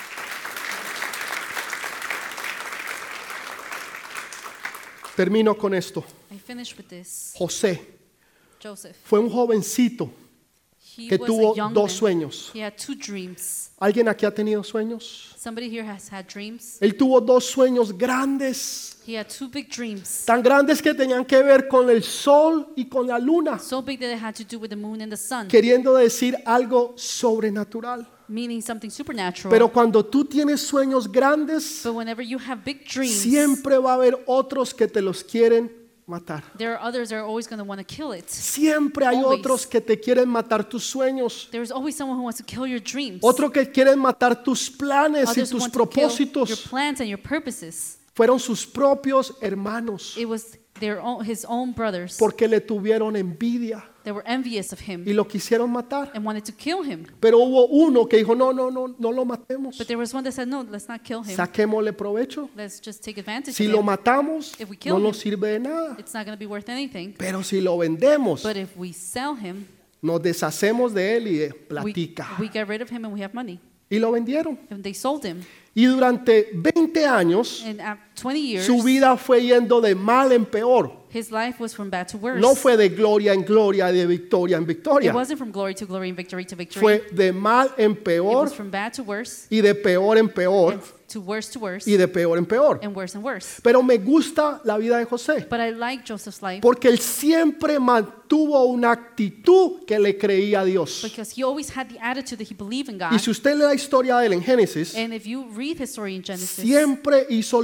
Termino con esto. I finish with this. José Joseph, fue un jovencito he que was tuvo a young dos man. sueños. He had 2 dreams. ¿Alguien aquí ha tenido sueños? Somebody here has had dreams. Él tuvo dos sueños grandes, He had 2 big dreams, tan grandes que tenían que ver con el sol y con la luna, so big that it had to do with the moon and the sun, queriendo decir algo sobrenatural. meaning something supernatural. Pero cuando tú tienes sueños grandes, But whenever you have big dreams, siempre va a haber otros que te los quieren matar. there are others that are always going to want to kill it. Siempre hay Always. otros que te quieren matar tus sueños, There is always someone who wants to kill your dreams. otros que quieren matar tus planes y Others who tus want to kill your propósitos. plans and your purposes. Fueron sus propios hermanos It was his own brothers porque le tuvieron envidia that were envious of him y lo quisieron matar. and wanted to kill him. Pero hubo uno que dijo, no lo matemos. But there was one that said, "No, let's not kill him. Saquémosle provecho. Let's just take advantage Si of lo him. matamos, If we kill no him, nos sirve de nada. It's not going to be worth anything. Pero si lo vendemos, But if we sell him, nos deshacemos de él y de we platica. get rid of him and we have money." Y lo vendieron. And they sold him. Y durante 20 años, And at 20 years, su vida fue yendo de mal en peor. his life was from bad to worse. No fue de gloria en gloria, de victoria en It victoria. wasn't from glory to glory and victory to victory. Fue de mal en It peor was from bad to worse y de peor en peor and to worse y de peor en peor. and worse and worse. Pero me gusta la vida de José But I like Joseph's life porque él siempre mantuvo una actitud que le creía a Dios. because he always had the attitude that he believed in God. Y si usted lee la historia de él en Génesis, And if you read his story in Genesis, siempre hizo lo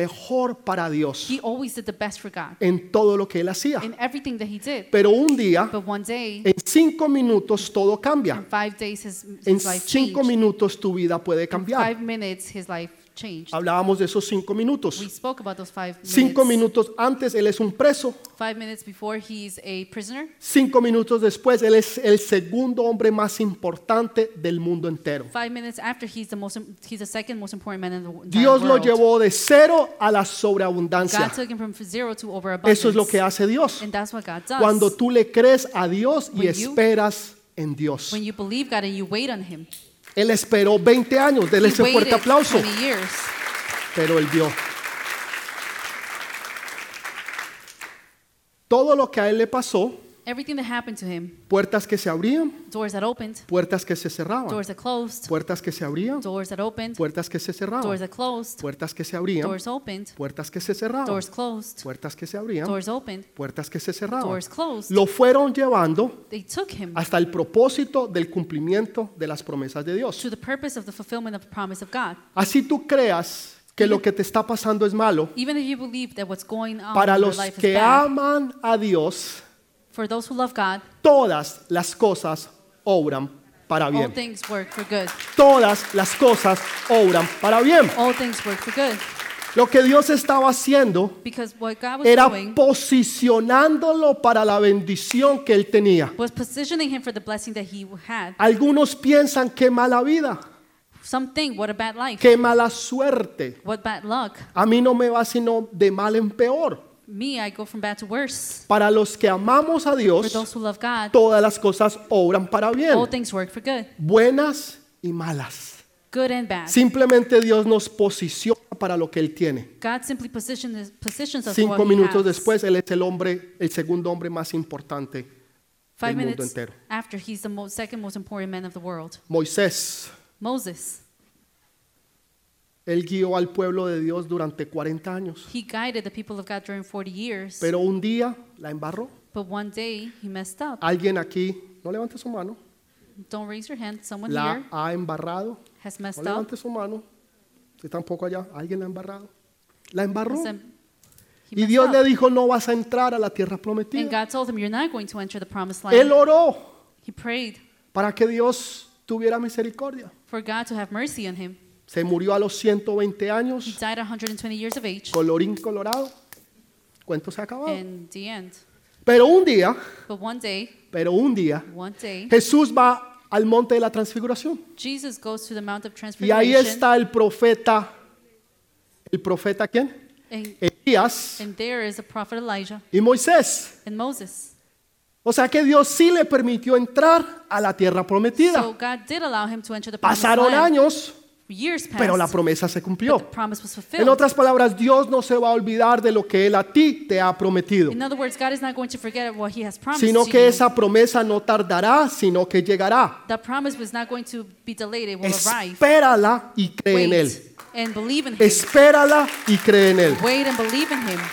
mejor para Dios He always did the best for God en todo lo que él hacía. in everything that he did. Pero un día, But one day, en 5 minutos todo in cambia. 5 days, En his life 5 changed. minutos tu vida puede In cambiar. 5 minutes, his life changed. Hablábamos de esos 5 minutos. We spoke about those 5 5 minutes. minutos antes él es un preso. 5 minutes before, he's a prisoner. 5 minutos después él es el segundo hombre más importante del mundo entero. 5 minutes after, he's the second most important man in the entire Dios lo world. llevó de cero a la sobreabundancia. God took him from zero to overabundance. Eso es lo que hace Dios. And that's what God does. Cuando tú le crees a Dios y When you- esperas en Dios. When you believe God and you wait on him. Él esperó 20 años, denle He ese fuerte waited aplauso, 20 years. pero él vio. Todo lo que a él le pasó, Everything that happened to him, puertas que se abrían, doors that opened, puertas que se cerraban, doors that closed, puertas que se abrían, doors that opened, puertas que se doors cerraban, that closed, puertas que se abrían, doors opened, puertas que se cerraban, doors closed, puertas que se abrían, doors opened, puertas que se cerraban. doors closed. Lo fueron llevando They took him hasta el propósito del cumplimiento de las promesas de Dios. to the purpose of the fulfillment of the promise of God. Así tú creas que lo que te está pasando es malo, Even if you believe that what's going on para in your los life is que bad, aman a Dios, for those who love God, todas las cosas obran para all bien. things work for good. Todas las cosas obran para bien. All things work for good. Lo que Dios estaba haciendo Because what God was era doing posicionándolo para la bendición que él tenía. was positioning him for the blessing that he had. Algunos piensan qué mala vida, Some think, what a bad life, qué mala suerte. what bad luck. A mí no me va sino de mal en peor. Me, I go from bad to worse. Para los que amamos a For Dios, those who love God, todas las cosas obran para bien, all things work for good, buenas y malas. good and bad. Simplemente Dios nos posiciona para lo que Él tiene. God simply positions us for 5 what he minutos has. después, Él es el segundo hombre más importante 5 del mundo minutes entero. after, he's the second most important man of the world. Moisés, Moses, él guió al pueblo de Dios durante 40 años, he guided the people of God during 40 years. pero un día la embarró. But one day, he messed up. Alguien aquí, no levante su mano, Don't raise your hand. Someone la here ha embarrado. has No messed up. levante su mano, usted tampoco allá, alguien la ha embarrado. La embarró. Listen, he Y messed Dios up. le dijo, no vas a entrar a la tierra And prometida. God told him, you're not going to enter the promised Él land. oró He prayed para que Dios tuviera misericordia. for God to have mercy on him. Se murió a los 120 He años, died at 120 years of age. colorín colorado. Cuento se ha acabado. In the end. Pero un día, But one day, Jesús va al monte de la transfiguración. Jesus goes to the Mount of Y ahí Transfiguration. está el profeta ¿quién? And, Elías and there is the prophet Elijah y Moisés. and Moses. O sea que Dios sí le permitió entrar a la tierra prometida. So God did allow him to enter the promised Pasaron land. años, Years passed, pero la promesa se but cumplió. the promise was En fulfilled. otras palabras, Dios no se va a olvidar de lo que Él a ti te ha prometido, In other words, God is not going to forget what he has promised sino to que you. esa promesa no tardará, sino que llegará. That promise was not going to be delayed, it will arrive. Espérala y cree en Él. Wait and believe in him. Espérala y cree en Él. Wait and believe in him.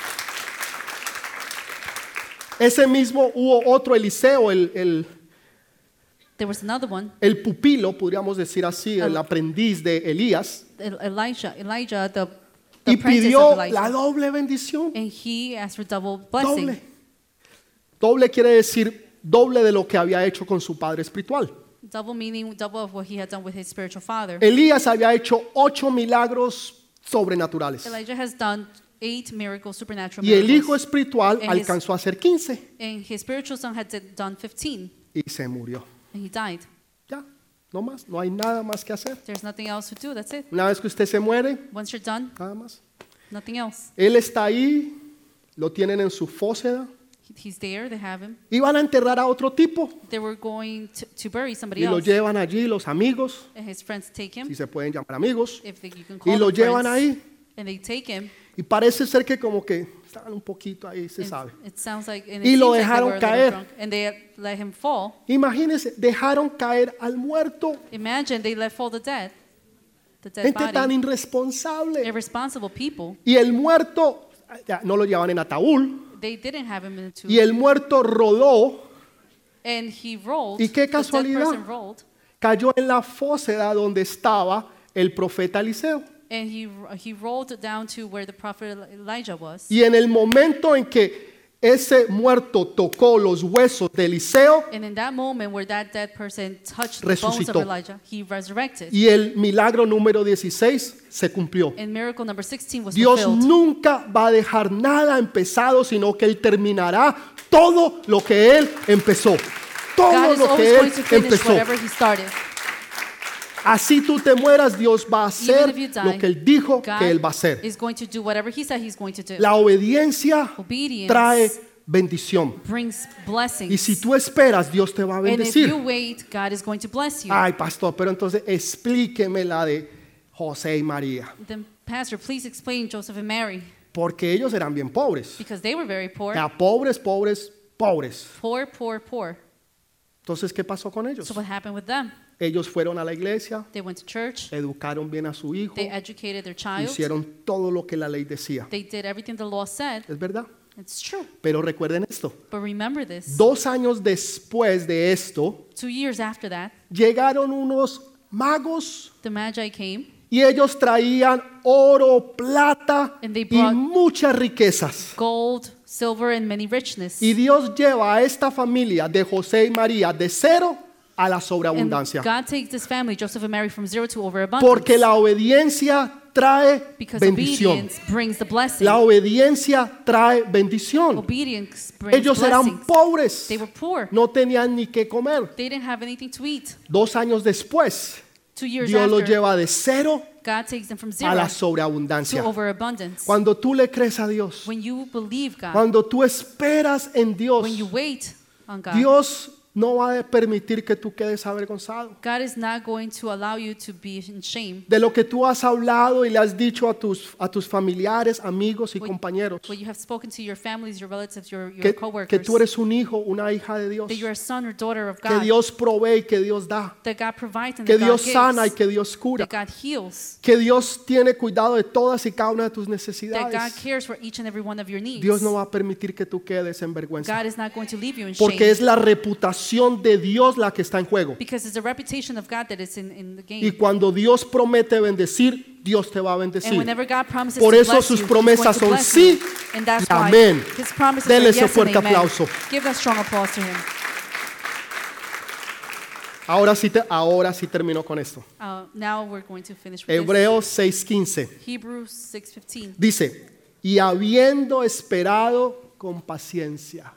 Ese mismo hubo otro Eliseo, There was another one, el pupilo, podríamos decir así, el aprendiz de Elías, Elijah, the y apprentice pidió of la Elijah. doble bendición. And he asked for double blessing. Doble. Doble quiere decir doble de lo que había hecho con su padre espiritual. Double meaning double of what he had done with his spiritual father. Elías había hecho 8 milagros sobrenaturales. Elijah has done 8 miracles, supernatural Y el hijo miracles. espiritual And his- alcanzó a hacer 15 And his spiritual son had done 15, y se murió. and he died. Ya, no más, no hay nada más que hacer. There's nothing else to do, that's it. Una vez que usted se muere, Once you're done, nada más. nothing else. Él está ahí, lo tienen en su fóseda He's there, they have him. y van a enterrar a otro tipo They were going to bury somebody y lo else. llevan allí los amigos, And his friends take him, si se pueden llamar amigos, if you can y call lo them llevan friends. ahí And they take him. y parece ser que como que estaban un poquito ahí, se sabe. It sounds like, and Y it lo seems like they dejaron were a little caer. drunk, and they let him fall. Imagínense, dejaron caer al muerto, Imagine they let fall the dead gente tan body. irresponsable. Irresponsible people. Y el muerto, ya, no lo llevan en ataúd, They didn't have him in the tomb. y el muerto rodó, And he rolled. ¿Y qué the dead casualidad? person rolled. cayó en la fóseda donde estaba el profeta Eliseo. And he rolled down to where the prophet Elijah was. Y en el momento en que ese muerto tocó los huesos de Eliseo, And in that moment where that dead person touched the bones of resucitó. Elijah, he resurrected. y el milagro número 16 se cumplió. And miracle number 16 was Dios fulfilled. nunca va a dejar nada empezado, sino que Él terminará todo lo que Él empezó. Todo God is lo always que going Él to finish empezó. whatever he started. Así tú te mueras, Dios va a hacer Even if you die, lo que Él dijo God que Él va a hacer. is going to do whatever he said he's going to do. La obediencia Obedience trae bendición. brings blessings. Y si tú esperas, Dios te va a And if bendecir. you wait, God is going to bless you. Ay, pastor, pero entonces explíqueme la de José y María. Then, Pastor, please explain Joseph and Mary, Porque ellos eran bien pobres. because they were very poor. Ya, pobres, pobres, pobres. Poor, poor, poor. Entonces, ¿qué pasó con ellos? So what happened with them? Ellos fueron a la iglesia, They went to church. educaron bien a su hijo, They educated their child. hicieron todo lo que la ley decía. They did everything the law said. ¿Es verdad? It's true. Pero recuerden esto. But remember this. 2 años después de esto, 2 years after that, llegaron unos magos the Magi came y ellos traían oro, plata And they y brought- muchas riquezas. gold, silver, and many richness. Y Dios lleva a esta familia de José y María de cero a la And sobreabundancia. God takes this family, Joseph and Mary, from zero to overabundance. Porque la obediencia trae Because bendición. obedience brings the blessing. La obediencia trae bendición. Obedience brings Ellos eran blessings. pobres. They were poor. No tenían ni qué comer. They didn't have anything to eat. 2 años después, 2 years Dios los after, lleva de cero God takes them from a zero la to sobreabundancia. overabundance. Cuando tú le crees a Dios, When you believe God, cuando tú esperas en Dios, when you wait on God, Dios no va a permitir que tú quedes avergonzado. God is not going to allow you to be in shame. De lo que tú has hablado y le has dicho a tus familiares, amigos y What- compañeros, What you have spoken to your families, your relatives, your que coworkers, tú eres un hijo, una hija de Dios, that you're a son or daughter of que God, Dios provee y que Dios da, that God provides and que that Dios God sana y gives, que Dios cura, that God heals, que Dios tiene cuidado de todas y cada una de tus that God necesidades. cares for each and every one of your needs. Dios no va a permitir que tú quedes en vergüenza, God is not going to leave you in porque shame, es la reputación de Dios la que está en juego. because it's the reputation of God that is in the Y game. cuando Dios promete bendecir, Dios te va a And bendecir. whenever God promises Por to eso bless sus you, He's promesas going to son bless sí you. And that's y why amén. His promises Dele are ese yes and fuerte amen. aplauso. Give that strong applause to Him. Ahora sí termino con esto. Now we're going to finish with this. Hebreos 6:15 Hebrews 6:15. dice, y habiendo esperado con paciencia,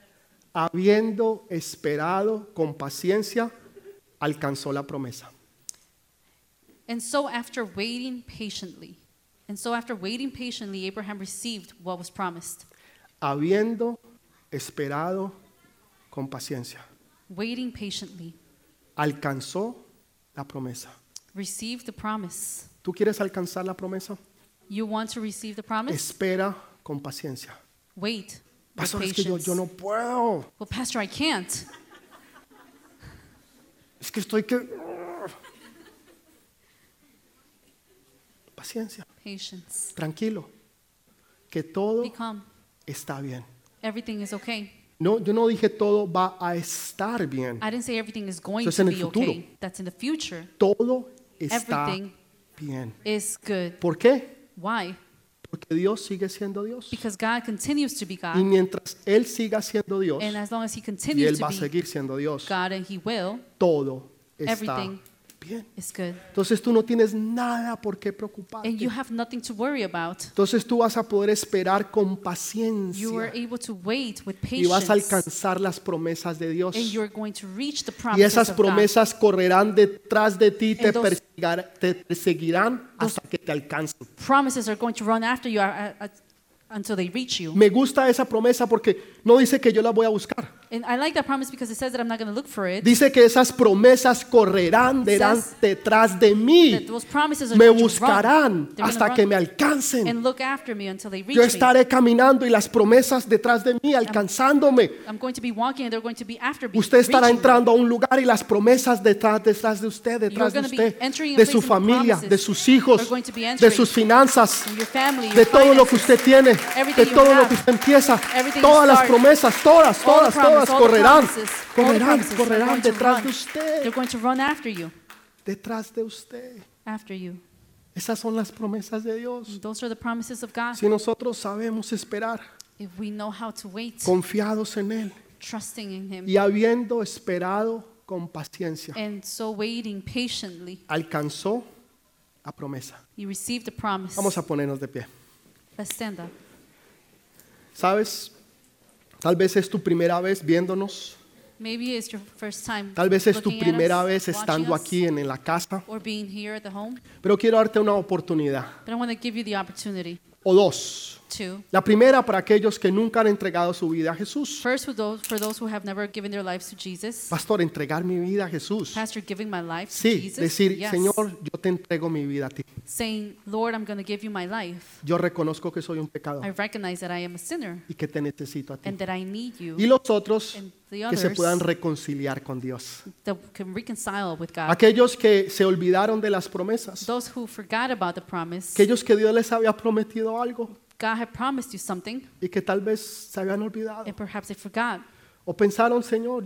alcanzó la promesa. And so after waiting patiently, Abraham received what was promised. Habiendo esperado con paciencia, Waiting patiently, alcanzó la promesa. received the promise. ¿Tú quieres alcanzar la promesa? You want to receive the promise? Espera con paciencia. Wait with Pastor, es que patience. yo no puedo. Well, Pastor, I can't. Es que estoy que... Paciencia, Patience. tranquilo, que todo Be calm. está bien. Everything is okay. No, yo no dije todo va a estar bien. I didn't say everything is going Eso es to en el be futuro. okay. That's in the future. Todo está Everything bien. is good. ¿Por qué? Why? Porque Dios sigue siendo Dios. Because God continues to be Y God. mientras Él siga siendo Dios, And as long as He y continues Él to va a be seguir siendo Dios, God, and He will, todo está everything bien. is good. Entonces tú no tienes nada por qué And preocuparte. you have nothing to worry about. Entonces tú vas a poder esperar con You are paciencia able to wait with y vas a patience. alcanzar las promesas de Dios. And you're going to reach the Y promises esas of God. promesas correrán detrás de ti, And those- te perseguirán hasta que te alcancen. Promises are going to run after you until they reach you. Me gusta esa promesa porque no dice que yo la voy a buscar. And I like that promise because it says that I'm not going to look for it. Dice que esas promesas correrán says detrás de That mí. those promises are Me going to buscarán run. They're hasta gonna que run me alcancen. and look after me until they reach Yo me. estaré caminando y las promesas detrás de mí, alcanzándome. I'm going to be walking and they're going to be after me. Usted estará reaching me. entrando a un lugar y las promesas detrás de usted, You're detrás de going to be usted, entering a de place su and the familia, promises de sus hijos, are going to be de entering sus finanzas, in your family, de your todo lo que finances, usted tiene, everything de you todo lo have, que usted empieza. everything you Todas las start, promesas, todas all the promises, all the correrán, promises, all the promises are correrán going to detrás run. de usted, They're going to run after you, detrás de usted. after you. Esas son las promesas de Dios. Those are the promises of God. Si nosotros sabemos esperar, If we know how to wait, confiados en Él trusting in Him, y habiendo esperado con paciencia, and so waiting patiently, alcanzó la promesa. you received the promise. Vamos a ponernos de pie. Let's stand up. ¿Sabes? Tal vez es tu primera vez viéndonos. Maybe it's your first time Tal vez es tu looking at primera us, vez watching estando us, aquí en la casa. or being here at the home. Pero quiero darte una oportunidad. But I want to give you the opportunity O dos. to. La primera para aquellos que nunca han entregado su vida a Jesús. First, for those who have never given their lives to Jesus. Pastor, entregar mi vida a Jesús. Pastor, giving my life to Sí, Jesus. decir, Yes. Señor, yo te entrego mi vida a ti. Saying, Lord, I'm going to give you my life. Yo reconozco que soy un I pecador recognize that I am a sinner y que te necesito a ti. and that I need you. Y los otros And the que se others puedan reconciliar con Dios. that can reconcile with God. Aquellos que se olvidaron de las promesas. Those who forgot about the promise. Aquellos que Dios les había prometido algo God had promised you something, y que tal vez se habían olvidado. and perhaps they forgot. O pensaron, Señor,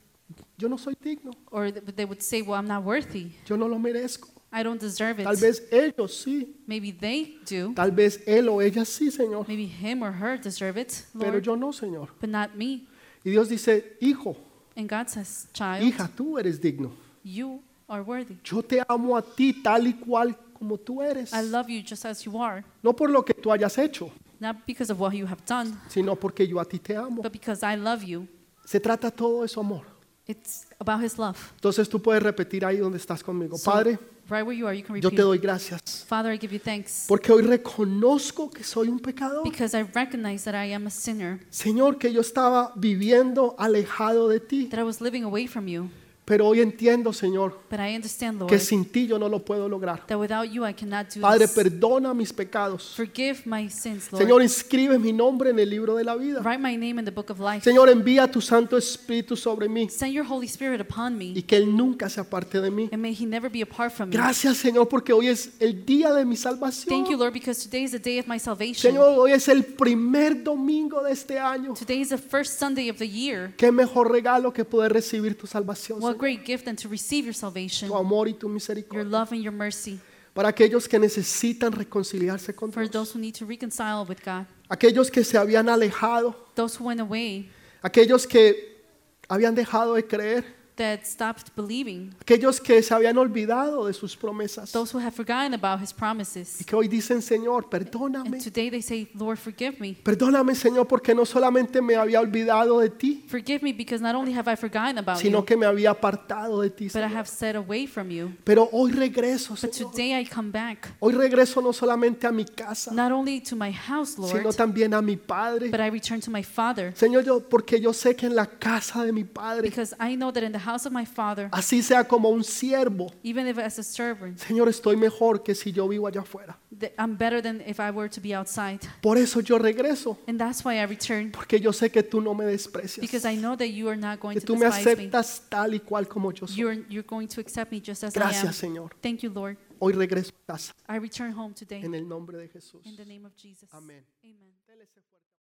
yo no soy digno. Or they would say, well, I'm not worthy. Yo no lo merezco. I don't deserve Tal it. vez ellos sí. Maybe they do. Tal vez él o ella sí, Señor. Maybe him or her deserve it, Pero Lord, yo no, Señor. but not me. Y Dios dice, hijo, And God says, child, hija, tú eres digno. you are worthy. Yo te amo a ti tal y cual como tú eres. I love you just as you are, No por lo que tú hayas hecho, not because of what you have done, sino porque yo a ti te amo. but because I love you. Se trata todo de su amor. It's about His love. Entonces tú puedes repetir ahí donde estás conmigo. So, Padre, right where you are, you can yo repeat. te doy gracias. Father, I give you thanks Porque hoy reconozco que soy un pecador. because I recognize that I am a sinner, Señor, que yo estaba viviendo alejado de ti. that I was living away from you. Pero hoy entiendo, Señor, But I understand, Lord, que sin ti yo no lo puedo lograr. that without you I cannot do Padre, this. perdona mis pecados. Forgive my sins, Lord. Señor, inscribe mi nombre en el libro de la vida. Write my name in the book of life. Señor, envía tu Santo Espíritu sobre mí Send your Holy Spirit upon y me, que Él nunca se aparte de mí. and may He never be apart from me. Gracias, Señor, porque hoy es el día de mi salvación. Thank you, Lord, because today is the day of my salvation. Señor, hoy es el primer domingo de este año. Today is the first Sunday of the year. Qué mejor regalo que poder recibir tu salvación, What Señor. great gift than to receive your salvation, Tu amor y tu your misericordia. love and your mercy. Para aquellos que necesitan reconciliarse con For Dios. those who need to reconcile with God, Aquellos que se habían alejado. those who went away, Aquellos que habían dejado de creer. that stopped believing, Aquellos que se habían olvidado de sus promesas. those who have forgotten about His promises. Y que hoy dicen, Señor, perdóname. And today they say, Lord, forgive me. Perdóname, Señor, porque no solamente me había olvidado de ti, Forgive me because not only have I forgotten about sino you, que me había apartado de ti, but I Señor. have set away from you. Pero hoy regreso, But Señor. today I come back, Hoy regreso no solamente a mi casa, not only to my house, sino Lord, también a mi Padre. but I return to my Father, Señor, porque yo sé que en la casa de mi Padre, because I know that in the house of my Father, así sea como un siervo, even if as a servant, Señor, estoy mejor que si yo vivo allá afuera. I'm better than if I were to be outside. Por eso yo regreso, And that's why I return, porque yo sé que tú no me desprecias, because I know that you are not going que to tú me despise me. aceptas tal y cual como yo soy. You're going to accept me just as I am. Gracias, Señor. Thank you, Lord. Hoy regreso a casa I return home today en el nombre de Jesús. in the name of Jesus. Amén. Amen. Dele ese fuerte